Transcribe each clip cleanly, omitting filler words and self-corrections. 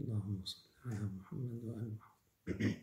اللهم صل على محمد وآل محمد.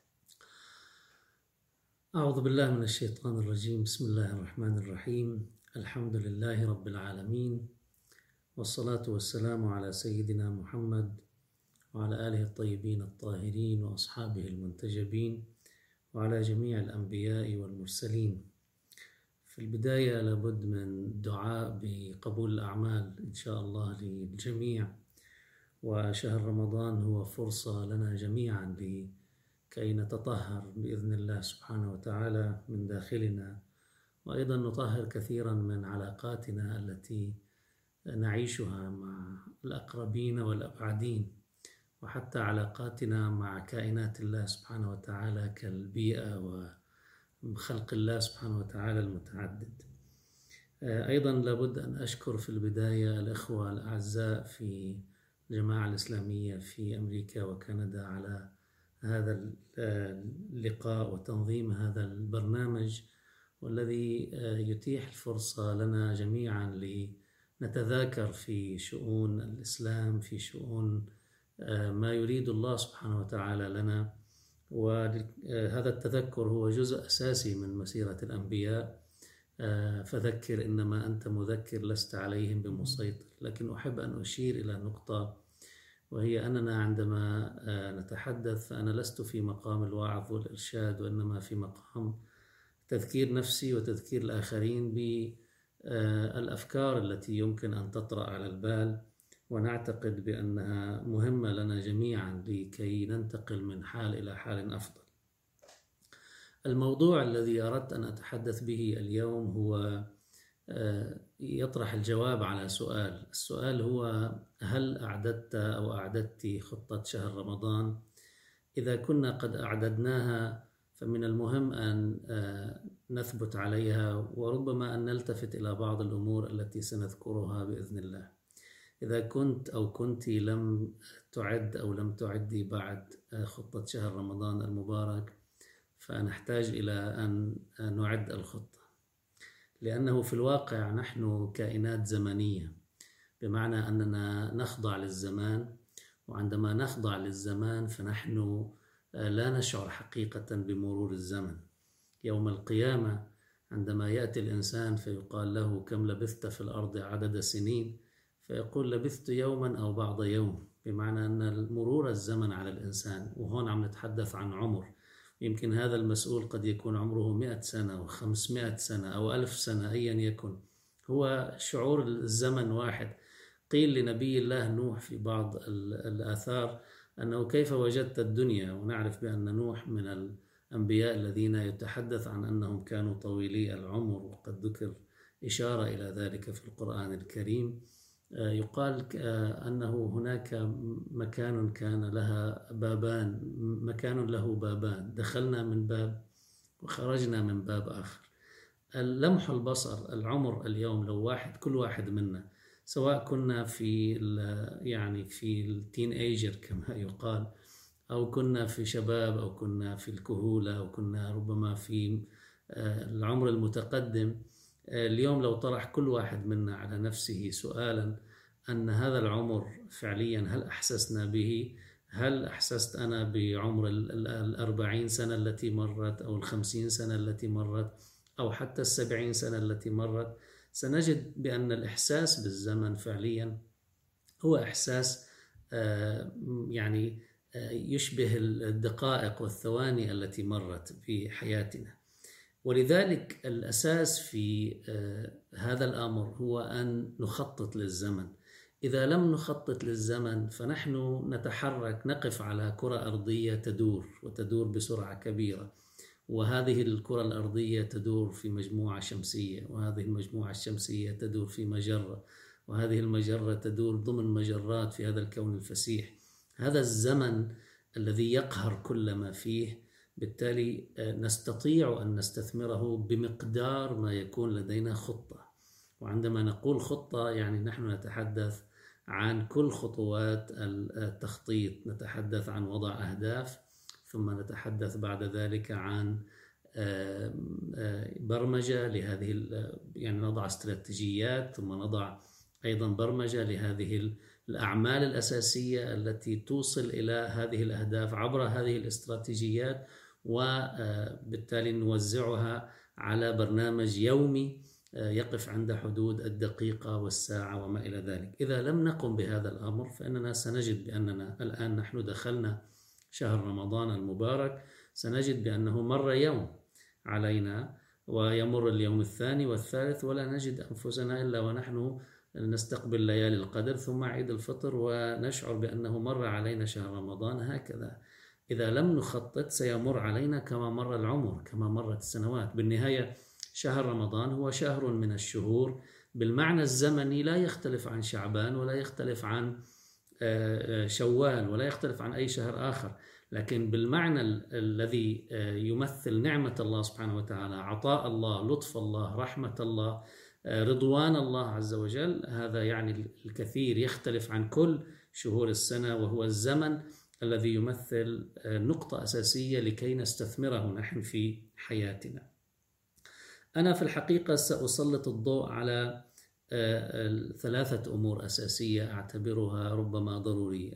أعوذ بالله من الشيطان الرجيم. بسم الله الرحمن الرحيم. الحمد لله رب العالمين، والصلاة والسلام على سيدنا محمد وعلى آله الطيبين الطاهرين وأصحابه المنتجبين وعلى جميع الأنبياء والمرسلين. في البداية لابد من دعاء بقبول الأعمال إن شاء الله للجميع، وشهر رمضان هو فرصة لنا جميعا لكي نتطهر بإذن الله سبحانه وتعالى من داخلنا، وأيضا نطهر كثيرا من علاقاتنا التي نعيشها مع الأقربين والأبعدين، وحتى علاقاتنا مع كائنات الله سبحانه وتعالى كالبيئة وخلق الله سبحانه وتعالى المتعدد. أيضا لابد أن أشكر في البداية الأخوة الأعزاء في الجماعة الإسلامية في أمريكا وكندا على هذا اللقاء وتنظيم هذا البرنامج، والذي يتيح الفرصة لنا جميعا لنتذاكر في شؤون الإسلام، في شؤون ما يريد الله سبحانه وتعالى لنا. وهذا التذكر هو جزء أساسي من مسيرة الأنبياء. فذكر إنما أنت مذكر لست عليهم بمسيطر. لكن أحب أن أشير إلى نقطة، وهي أننا عندما نتحدث فأنا لست في مقام الوعظ والإرشاد، وإنما في مقام تذكير نفسي وتذكير الآخرين بالأفكار التي يمكن أن تطرأ على البال، ونعتقد بأنها مهمة لنا جميعا لكي ننتقل من حال إلى حال أفضل. الموضوع الذي أردت أن أتحدث به اليوم هو يطرح الجواب على سؤال. السؤال هو: هل أعددت أو أعددت خطة شهر رمضان؟ إذا كنا قد أعددناها فمن المهم أن نثبت عليها، وربما أن نلتفت إلى بعض الأمور التي سنذكرها بإذن الله. إذا كنت أو كنت لم تعد أو لم تعدي بعد خطة شهر رمضان المبارك، فنحتاج إلى أن نعد الخطة، لأنه في الواقع نحن كائنات زمنية، بمعنى أننا نخضع للزمان، وعندما نخضع للزمان فنحن لا نشعر حقيقة بمرور الزمن. يوم القيامة عندما يأتي الإنسان فيقال له: كم لبثت في الأرض عدد سنين؟ فيقول: لبثت يوما أو بعض يوم، بمعنى أن مرور الزمن على الإنسان. وهون عم نتحدث عن عمر، يمكن هذا المسؤول قد يكون عمره 100 سنة و500 سنة أو 1000 سنة، أيا يكن، هو شعور الزمن واحد. قيل لنبي الله نوح في بعض الآثار أنه: كيف وجدت الدنيا؟ ونعرف بأن نوح من الأنبياء الذين يتحدث عن أنهم كانوا طويلي العمر، وقد ذكر إشارة إلى ذلك في القرآن الكريم. يقال أنه هناك مكان كان لها بابان، مكان له بابان، دخلنا من باب وخرجنا من باب آخر. لمح البصر، العمر اليوم لو كل واحد منا، سواء كنا في التين ايجر كما يقال، أو كنا في شباب، أو كنا في الكهولة، أو كنا ربما في العمر المتقدم، اليوم لو طرح كل واحد منا على نفسه سؤالا أن هذا العمر فعليا هل أحسسنا به؟ هل أحسست أنا بعمر 40 سنة التي مرت، أو 50 سنة التي مرت، أو حتى 70 سنة التي مرت؟ سنجد بأن الإحساس بالزمن فعليا هو إحساس يشبه الدقائق والثواني التي مرت في حياتنا. ولذلك الأساس في هذا الأمر هو أن نخطط للزمن. إذا لم نخطط للزمن فنحن نتحرك، نقف على كرة أرضية تدور بسرعة كبيرة، وهذه الكرة الأرضية تدور في مجموعة شمسية، وهذه المجموعة الشمسية تدور في مجرة، وهذه المجرة تدور ضمن مجرات في هذا الكون الفسيح. هذا الزمن الذي يقهر كل ما فيه، بالتالي نستطيع أن نستثمره بمقدار ما يكون لدينا خطة. وعندما نقول خطة يعني نحن نتحدث عن كل خطوات التخطيط، نتحدث عن وضع أهداف، ثم نتحدث بعد ذلك عن برمجة لهذه، نضع استراتيجيات، ثم نضع أيضا برمجة لهذه الأعمال الأساسية التي توصل إلى هذه الأهداف عبر هذه الاستراتيجيات، وبالتالي نوزعها على برنامج يومي يقف عند حدود الدقيقة والساعة وما إلى ذلك. إذا لم نقم بهذا الأمر فإننا سنجد بأننا الآن نحن دخلنا شهر رمضان المبارك، سنجد بأنه مر يوم علينا ويمر اليوم الثاني والثالث ولا نجد أنفسنا إلا ونحن نستقبل ليالي القدر ثم عيد الفطر ونشعر بأنه مر علينا شهر رمضان. هكذا إذا لم نخطط سيمر علينا كما مر العمر، كما مرت السنوات. بالنهاية شهر رمضان هو شهر من الشهور بالمعنى الزمني، لا يختلف عن شعبان ولا يختلف عن شوال ولا يختلف عن أي شهر آخر، لكن بالمعنى الذي يمثل نعمة الله سبحانه وتعالى، عطاء الله، لطف الله، رحمة الله، رضوان الله عز وجل، هذا يعني الكثير، يختلف عن كل شهور السنة، وهو الزمن الذي يمثل نقطة أساسية لكي نستثمره نحن في حياتنا. أنا في الحقيقة سأسلط الضوء على ثلاثة أمور أساسية أعتبرها ربما ضرورية،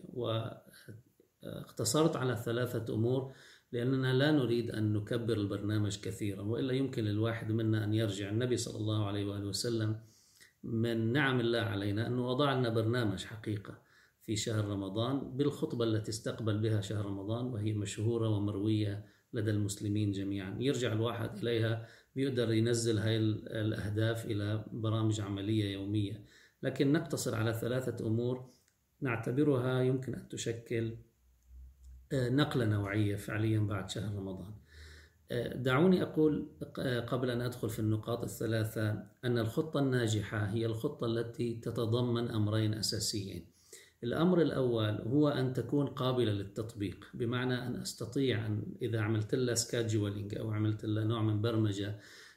واختصرت على ثلاثة أمور لأننا لا نريد أن نكبر البرنامج كثيرا، وإلا يمكن للواحد منا أن يرجع. النبي صلى الله عليه وآله وسلم من نعم الله علينا أنه وضع لنا برنامج حقيقة في شهر رمضان بالخطبة التي استقبل بها شهر رمضان، وهي مشهورة ومروية لدى المسلمين جميعا، يرجع الواحد إليها بيقدر ينزل هاي الأهداف إلى برامج عملية يومية. لكن نقتصر على ثلاثة أمور نعتبرها يمكن أن تشكل نقلة نوعية فعليا بعد شهر رمضان. دعوني أقول قبل أن أدخل في النقاط الثلاثة أن الخطة الناجحة هي الخطة التي تتضمن أمرين أساسيين. الأمر الأول هو أن تكون قابلة للتطبيق، بمعنى أن أستطيع أن إذا عملت لها سكادجولينج أو عملت لها نوع من برمجة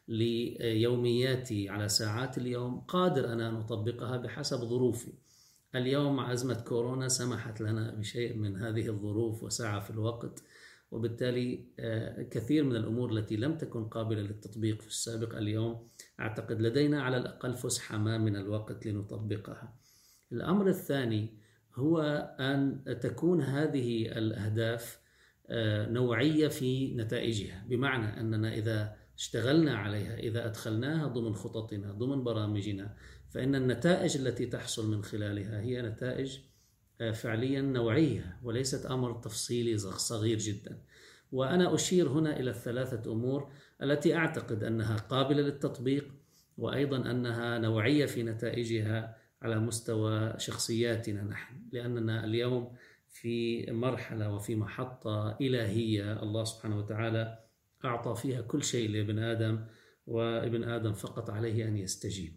ليومياتي على ساعات اليوم، قادر أنا أن أطبقها بحسب ظروفي. اليوم مع أزمة كورونا سمحت لنا بشيء من هذه الظروف وسعة في الوقت، وبالتالي كثير من الأمور التي لم تكن قابلة للتطبيق في السابق اليوم أعتقد لدينا على الأقل فسحة ما من الوقت لنطبقها. الأمر الثاني هو أن تكون هذه الأهداف نوعية في نتائجها، بمعنى أننا إذا اشتغلنا عليها، إذا أدخلناها ضمن خططنا ضمن برامجنا، فإن النتائج التي تحصل من خلالها هي نتائج فعليا نوعية وليست أمر تفصيلي صغير جدا. وأنا أشير هنا إلى الثلاثة أمور التي أعتقد أنها قابلة للتطبيق، وأيضا أنها نوعية في نتائجها على مستوى شخصياتنا نحن، لأننا اليوم في مرحلة وفي محطة إلهية الله سبحانه وتعالى أعطى فيها كل شيء لابن آدم، وابن آدم فقط عليه أن يستجيب.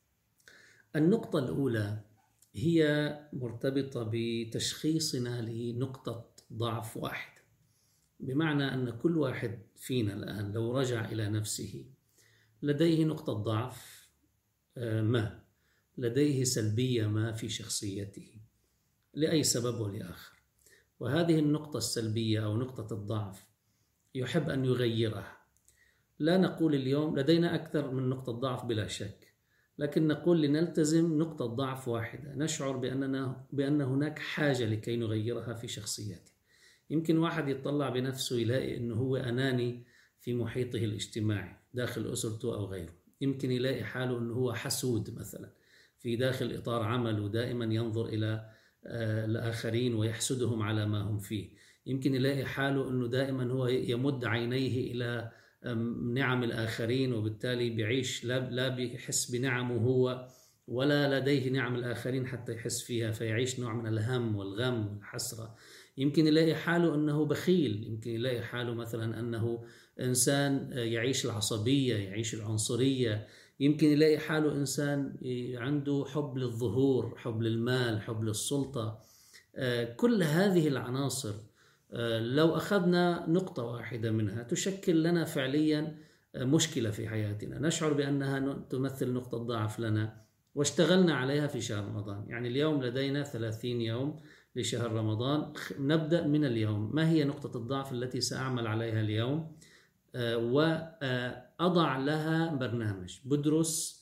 النقطة الأولى هي مرتبطة بتشخيصنا لنقطة ضعف واحدة، بمعنى أن كل واحد فينا الآن لو رجع إلى نفسه لديه نقطة ضعف ما، لديه سلبية ما في شخصيته لأي سبب ولآخر، وهذه النقطة السلبية أو نقطة الضعف يحب أن يغيرها. لا نقول اليوم لدينا أكثر من نقطة ضعف بلا شك، لكن نقول لنلتزم نقطة ضعف واحدة نشعر بأن هناك حاجة لكي نغيرها في شخصيته. يمكن واحد يطلع بنفسه يلاقي أنه هو أناني في محيطه الاجتماعي داخل أسرته أو غيره، يمكن يلاقي حاله أنه هو حسود مثلا في داخل إطار عمله، دائما ينظر إلى الآخرين ويحسدهم على ما هم فيه، يمكن يلاقي حاله أنه دائما هو يمد عينيه إلى نعم الآخرين، وبالتالي بيعيش لا بيحس بنعمه هو ولا لديه نعم الآخرين حتى يحس فيها، فيعيش نوع من الهم والغم والحسرة. يمكن يلاقي حاله أنه بخيل، يمكن يلاقي حاله مثلا أنه إنسان يعيش العصبية، يعيش العنصرية، يمكن يلاقي حاله إنسان عنده حب للظهور، حب للمال، حب للسلطة. كل هذه العناصر لو أخذنا نقطة واحدة منها تشكل لنا فعليا مشكلة في حياتنا، نشعر بأنها تمثل نقطة ضعف لنا واشتغلنا عليها في شهر رمضان. يعني اليوم لدينا 30 يوم لشهر رمضان، نبدأ من اليوم. ما هي نقطة الضعف التي سأعمل عليها اليوم؟ وأضع لها برنامج، بدرس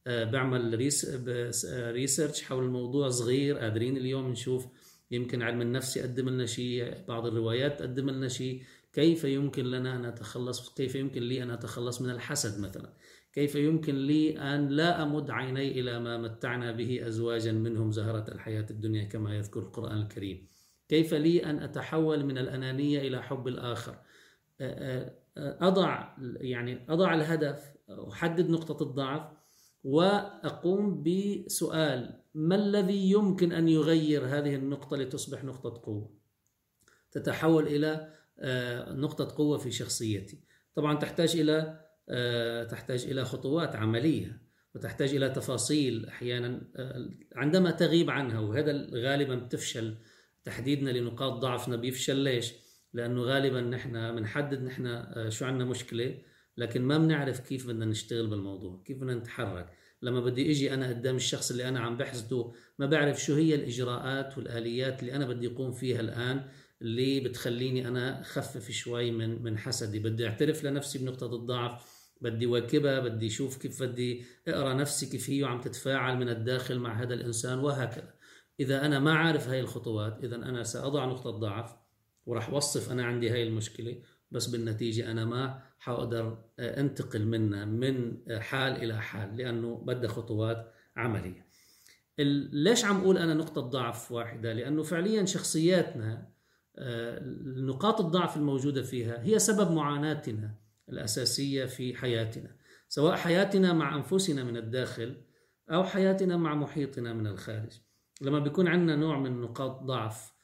بعمل ريسيرش حول الموضوع صغير، قادرين اليوم نشوف يمكن علم النفس يقدم لنا شيء، بعض الروايات تقدم لنا شيء، كيف يمكن لنا أن نتخلص، كيف يمكن لي أن أتخلص من الحسد مثلا، كيف يمكن لي أن لا أمد عيني إلى ما متعنا به أزواجا منهم زهرة الحياة الدنيا كما يذكر القرآن الكريم، كيف لي أن أتحول من الأنانية إلى حب الآخر. أضع الهدف، أحدد نقطة الضعف، وأقوم بسؤال: ما الذي يمكن أن يغير هذه النقطة لتصبح نقطة قوة، تتحول إلى نقطة قوة في شخصيتي؟ طبعا تحتاج إلى خطوات عملية، وتحتاج إلى تفاصيل أحيانا عندما تغيب عنها، وهذا غالبا بتفشل. تحديدنا لنقاط ضعفنا بيفشل. ليش؟ لأنه غالبا نحن بنحدد نحن شو عندنا مشكلة، لكن ما بنعرف كيف بدنا نشتغل بالموضوع، كيف بدنا نتحرك. لما بدي اجي انا قدام الشخص اللي انا عم بحسده، ما بعرف شو هي الاجراءات والاليات اللي انا بدي اقوم فيها الان، اللي بتخليني انا اخفف شوي من حسدي. بدي اعترف لنفسي بنقطة الضعف، بدي واكبها، بدي اشوف كيف بدي اقرا نفسي كيف هي عم تتفاعل من الداخل مع هذا الانسان، وهكذا. اذا انا ما عارف هاي الخطوات، اذا انا ساضع نقطة ضعف وراح وصف انا عندي هاي المشكلة، بس بالنتيجة أنا ما حقدر أنتقل منها من حال إلى حال، لأنه بدها خطوات عملية. ليش عم أقول أنا نقطة ضعف واحدة؟ لأنه فعليا شخصياتنا نقاط الضعف الموجودة فيها هي سبب معاناتنا الأساسية في حياتنا، سواء حياتنا مع أنفسنا من الداخل أو حياتنا مع محيطنا من الخارج. لما بيكون عندنا نوع من نقاط ضعف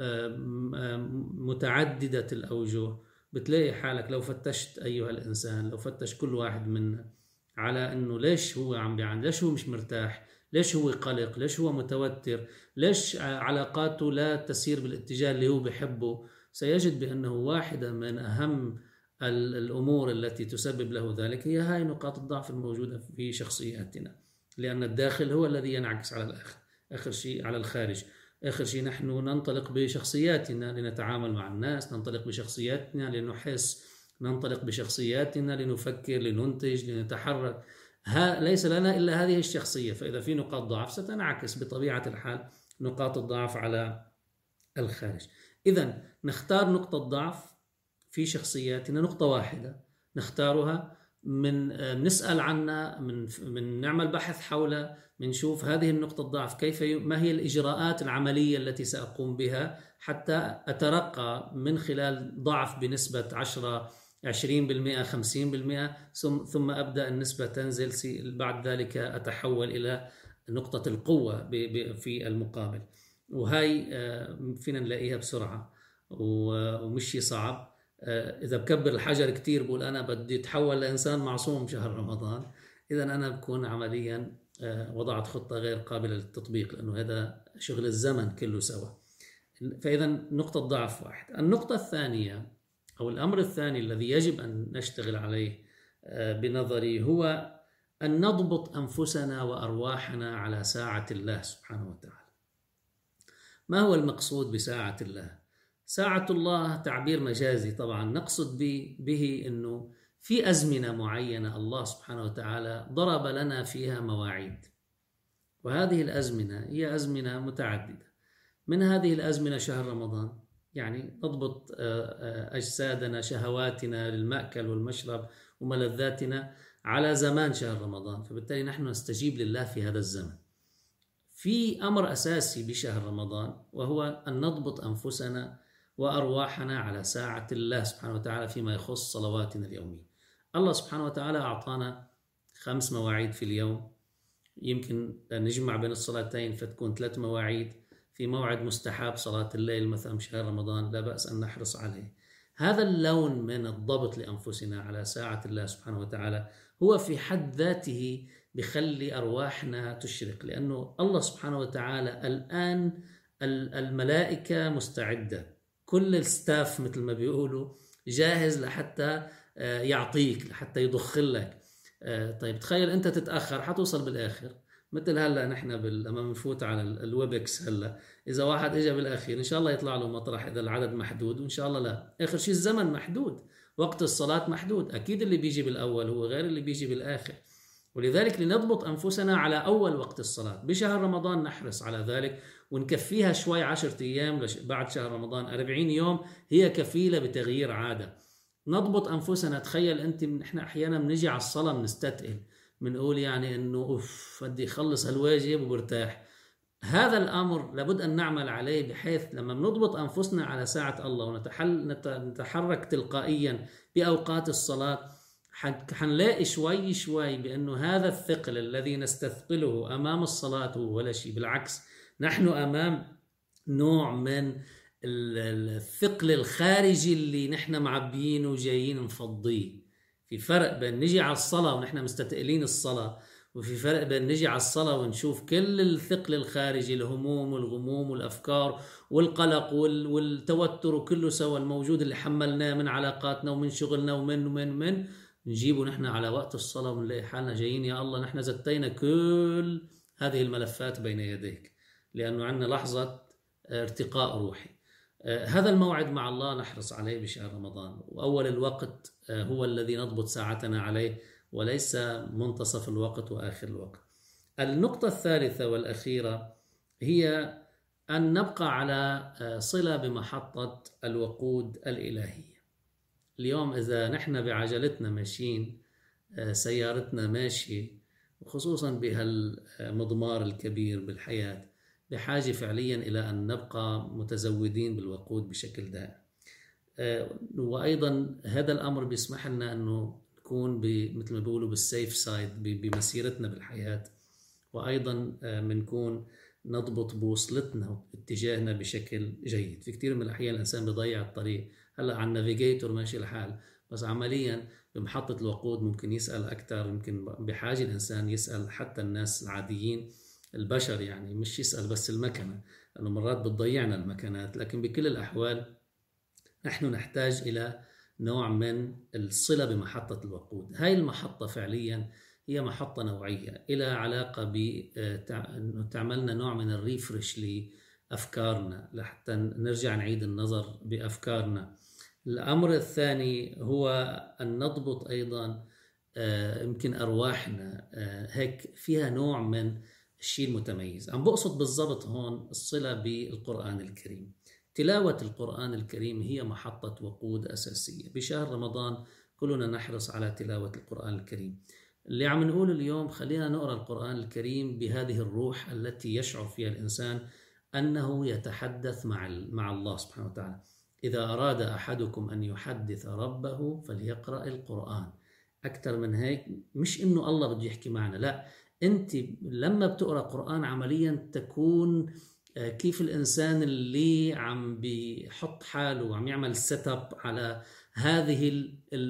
متعددة الأوجه، بتلاقي حالك لو فتشت أيها الإنسان، لو فتش كل واحد منا على أنه ليش هو عم بيعاني، ليش هو مش مرتاح، ليش هو قلق، ليش هو متوتر، ليش علاقاته لا تسير بالاتجاه اللي هو بيحبه، سيجد بأنه واحدة من أهم الأمور التي تسبب له ذلك هي هاي نقاط الضعف الموجودة في شخصياتنا، لأن الداخل هو الذي ينعكس على آخر شيء على الخارج. آخر شيء نحن ننطلق بشخصياتنا لنتعامل مع الناس، ننطلق بشخصياتنا لنحس، ننطلق بشخصياتنا لنفكر، لننتج، لنتحرك. ليس لنا إلا هذه الشخصية. فإذا في نقاط ضعف ستنعكس بطبيعة الحال نقاط الضعف على الخارج. إذن نختار نقطة ضعف في شخصياتنا، نقطة واحدة نختارها، نسأل عنها، من نعمل بحث حولها، منشوف هذه النقطة الضعف ما هي الإجراءات العملية التي سأقوم بها حتى أترقى من خلال ضعف بنسبة 10 20% 50%، ثم أبدأ النسبة تنزل، بعد ذلك أتحول إلى نقطة القوة في المقابل. وهي فينا نلاقيها بسرعة ومش صعب. إذا بكبر الحجر كتير بقول أنا بدي أتحول لإنسان معصوم شهر رمضان، إذا أنا بكون عمليا وضعت خطة غير قابلة للتطبيق، لأنه هذا شغل الزمن كله سوا. فإذا نقطة ضعف واحد. النقطة الثانية أو الأمر الثاني الذي يجب أن نشتغل عليه بنظري هو أن نضبط أنفسنا وأرواحنا على ساعة الله سبحانه وتعالى. ما هو المقصود بساعة الله؟ ساعة الله تعبير مجازي طبعا، نقصد به أنه في أزمنة معينة الله سبحانه وتعالى ضرب لنا فيها مواعيد، وهذه الأزمنة هي أزمنة متعددة. من هذه الأزمنة شهر رمضان، يعني نضبط أجسادنا، شهواتنا للمأكل والمشرب وملذاتنا على زمان شهر رمضان، فبالتالي نحن نستجيب لله في هذا الزمن. في أمر أساسي بشهر رمضان، وهو أن نضبط أنفسنا وأرواحنا على ساعة الله سبحانه وتعالى فيما يخص صلواتنا اليومية. الله سبحانه وتعالى أعطانا 5 مواعيد في اليوم، يمكن نجمع بين الصلاتين فتكون 3 مواعيد. في موعد مستحب صلاة الليل مثلا بشهر رمضان، لا بأس أن نحرص عليه. هذا اللون من الضبط لأنفسنا على ساعة الله سبحانه وتعالى هو في حد ذاته بخلي أرواحنا تشرق، لأنه الله سبحانه وتعالى الآن الملائكة مستعدة، كل الستاف مثل ما بيقولوا جاهز لحتى يعطيك، لحتى يضخ لك. طيب تخيل أنت تتأخر حتوصل بالآخر. مثل هلا نحن لما بنفوت على الويبكس هلا، إذا واحد إجا بالأخير إن شاء الله يطلع له مطرح إذا العدد محدود، وإن شاء الله لا. آخر شيء الزمن محدود، وقت الصلاة محدود. أكيد اللي بيجي بالأول هو غير اللي بيجي بالآخر. ولذلك لنضبط أنفسنا على أول وقت الصلاة بشهر رمضان، نحرص على ذلك ونكفيها شوي 10 أيام بعد شهر رمضان. 40 يوم هي كفيلة بتغيير عادة. نضبط أنفسنا. تخيل أنت، إحنا أحيانا بنجي على الصلاة بنستثقل، بنقول يعني إنه أوف بدي أخلص هالواجب وبرتاح. هذا الأمر لابد أن نعمل عليه، بحيث لما بنضبط أنفسنا على ساعة الله ونتحرك تلقائيا بأوقات الصلاة، حنلاقي شوي شوي بأنه هذا الثقل الذي نستثقله أمام الصلاة هو ولا شيء. بالعكس، نحن أمام نوع من الثقل الخارجي اللي نحن معبيينه وجايين نفضيه. في فرق بين نجي على الصلاة ونحن مستثقلين الصلاة، وفي فرق بين نجي على الصلاة ونشوف كل الثقل الخارجي، الهموم والغموم والأفكار والقلق والتوتر وكله سوا الموجود اللي حملناه من علاقاتنا ومن شغلنا ومن نجيبه نحن على وقت الصلاة ونلاقي حالنا جايين يا الله نحن زتينا كل هذه الملفات بين يديك، لأنه عندنا لحظة ارتقاء روحي. هذا الموعد مع الله نحرص عليه بشهر رمضان، وأول الوقت هو الذي نضبط ساعتنا عليه، وليس منتصف الوقت وآخر الوقت. النقطة الثالثة والأخيرة هي أن نبقى على صلة بمحطة الوقود الإلهية. اليوم إذا نحن بعجلتنا ماشيين، سيارتنا ماشية، وخصوصا بهالمضمار الكبير بالحياة، بحاجة فعليا إلى أن نبقى متزودين بالوقود بشكل دائم. وأيضا هذا الأمر بيسمح لنا أنه نكون مثل ما بيقولوا بالسيف سايد بمسيرتنا بالحياة، وأيضا بنكون نضبط بوصلتنا واتجاهنا بشكل جيد. في كثير من الأحيان الإنسان بيضيع الطريق. هلأ على النافيجيتور ماشي الحال، بس عمليا بمحطة الوقود ممكن يسأل أكثر، يمكن بحاجة الإنسان يسأل حتى الناس العاديين البشر، يعني مش يسأل بس المكنة، لأنه مرات بتضيعنا المكنات. لكن بكل الأحوال نحن نحتاج إلى نوع من الصلة بمحطة الوقود. هاي المحطة فعليا هي محطة نوعية، إلى علاقة بأنه تعملنا نوع من الريفرش لأفكارنا لحتى نرجع نعيد النظر بأفكارنا. الأمر الثاني هو أن نضبط أيضا يمكن أرواحنا، هيك فيها نوع من الشيء المتميز. عم بقصد بالضبط هون الصلة بالقرآن الكريم. تلاوة القرآن الكريم هي محطة وقود أساسية. بشهر رمضان كلنا نحرص على تلاوة القرآن الكريم. اللي عم نقول اليوم خلينا نقرأ القرآن الكريم بهذه الروح التي يشعر فيها الإنسان أنه يتحدث مع الله سبحانه وتعالى. إذا أراد أحدكم أن يحدث ربه فليقرأ القرآن. أكثر من هيك مش إنه الله بده يحكي معنا، لا، أنت لما بتقرأ قرآن عمليا تكون كيف الإنسان اللي عم بيحط حاله وعم يعمل سيت اب على هذه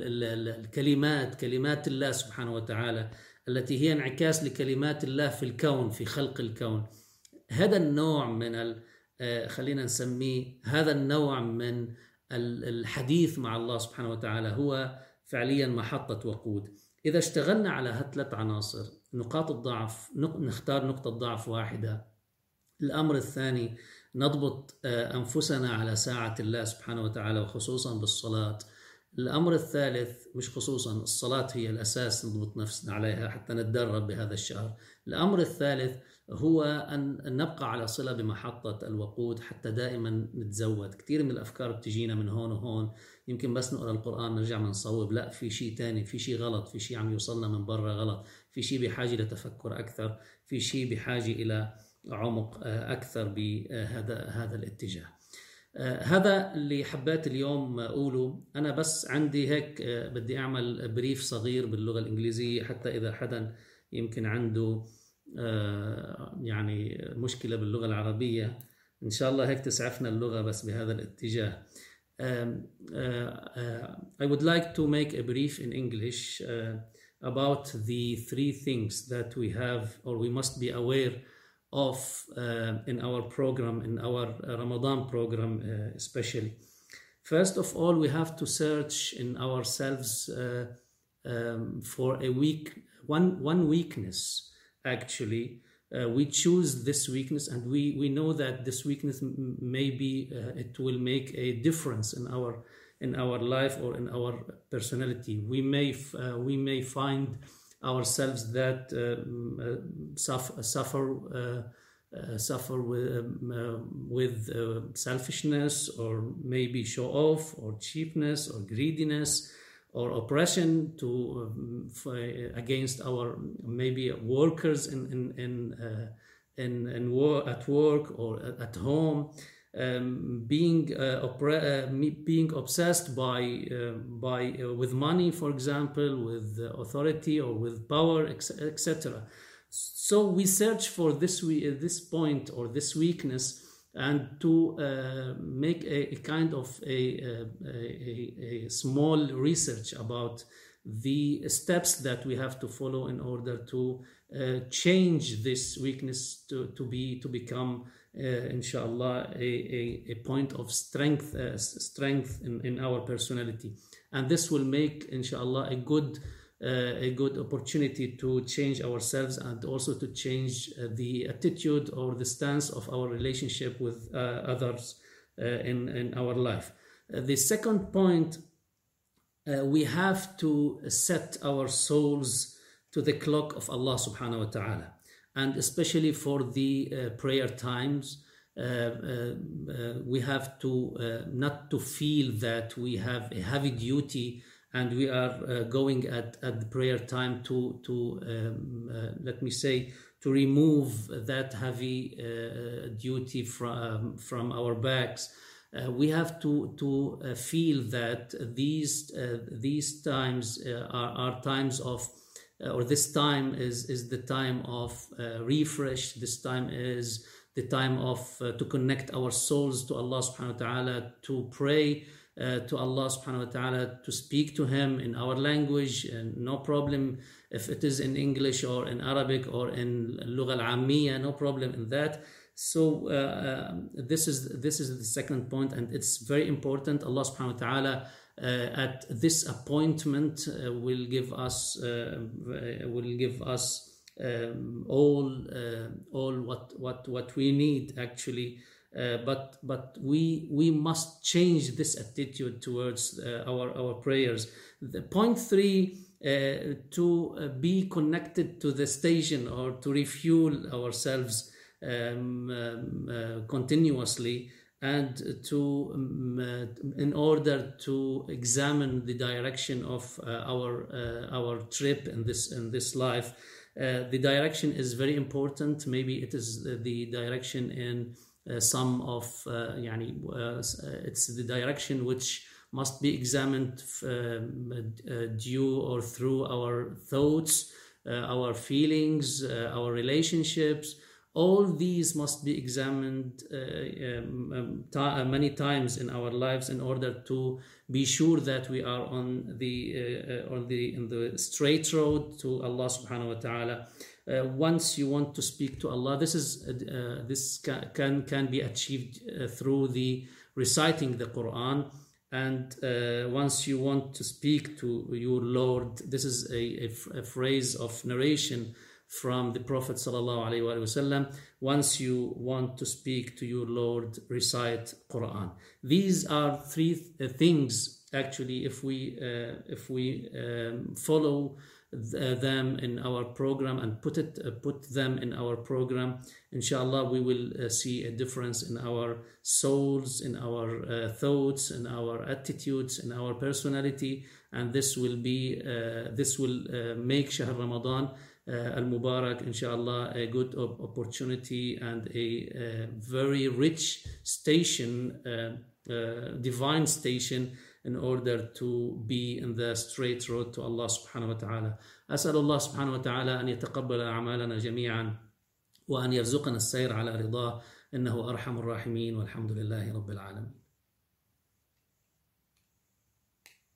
الكلمات، كلمات الله سبحانه وتعالى التي هي انعكاس لكلمات الله في الكون، في خلق الكون. هذا النوع من خلينا نسميه هذا النوع من الحديث مع الله سبحانه وتعالى هو فعليا محطة وقود. إذا اشتغلنا على هالثلاث عناصر، نقاط الضعف نختار نقطة ضعف واحدة. الأمر الثاني نضبط أنفسنا على ساعة الله سبحانه وتعالى وخصوصا بالصلاة. الأمر الثالث مش خصوصا الصلاة هي الأساس نضبط نفسنا عليها حتى نتدرب بهذا الشهر. الأمر الثالث هو أن نبقى على صلة بمحطة الوقود حتى دائما نتزود. كثير من الأفكار بتجينا من هون وهون، يمكن بس نقرأ القرآن نرجع نصوب، لا، في شيء تاني، في شيء غلط، في شيء عم يوصلنا من برا غلط، في شيء بحاجة لتفكر أكثر، في شيء بحاجة إلى عمق أكثر بهذا الاتجاه. هذا اللي حبيت اليوم أقوله. أنا بس عندي هيك بدي أعمل بريف صغير باللغة الإنجليزية حتى إذا حدا يمكن عنده يعني مشكلة باللغة العربية إن شاء الله هيك تسعفنا اللغة بس بهذا الاتجاه. I would like to make a brief in English about the three things that we have or we must be aware of in our program, in our Ramadan program especially. First of all, we have to search in ourselves for one weakness. Actually, we choose this weakness, and we know that this weakness maybe it will make a difference in our life or in our personality. We may find ourselves that suffer with selfishness, or maybe show off, or cheapness, or greediness, or oppression against our maybe workers at work or at home, being obsessed with money, for example, with authority or with power, etc. So we search for this point or this weakness, and to make a kind of a small research about the steps that we have to follow in order to change this weakness to become inshallah a point of strength in our personality. And this will make inshallah a good opportunity to change ourselves, and also to change the attitude or the stance of our relationship with others in our life. The second point, we have to set our souls to the clock of Allah subhanahu wa ta'ala, and especially for the prayer times. We have to not to feel that we have a heavy duty, and we are going at the prayer time to let me say, to remove that heavy duty from our backs. We have to feel that these times are times of, or this time is the time of refresh. This time is the time of to connect our souls to Allah subhanahu wa ta'ala, to pray to Allah subhanahu wa ta'ala, to speak to Him in our language, and no problem if it is in English or in Arabic or in Lugha al-Ammiya, no problem in that. So this is the second point, and it's very important. Allah subhanahu wa ta'ala at this appointment will give us all what we need actually. But we must change this attitude towards our prayers. The point 3, to be connected to the station, or to refuel ourselves continuously, and to in order to examine the direction of our trip in this life. The direction is very important. Maybe it is the direction in some of it's the direction which must be examined due or through our thoughts, our feelings, our relationships. All these must be examined many times in our lives in order to be sure that we are in the straight road to Allah subhanahu wa ta'ala. Once you want to speak to Allah, this can be achieved through the reciting the Quran. And once you want to speak to your Lord, this is a phrase of narration from the Prophet sallallahu alaihi wasallam. Once you want to speak to your Lord, recite Quran. These are 3 things actually. If we follow them in our program and put them in our program, inshallah, we will see a difference in our souls, in our thoughts, in our attitudes, in our personality, and this will make Shahr Ramadan al-Mubarak, inshallah, a good opportunity and a very rich station, divine station, in order to be in the straight road to Allah subhanahu wa ta'ala. أسأل الله سبحانه وتعالى أن يتقبل أعمالنا جميعا وأن يرزقنا السير على رضاه إنه أرحم الراحمين والحمد لله رب العالمين.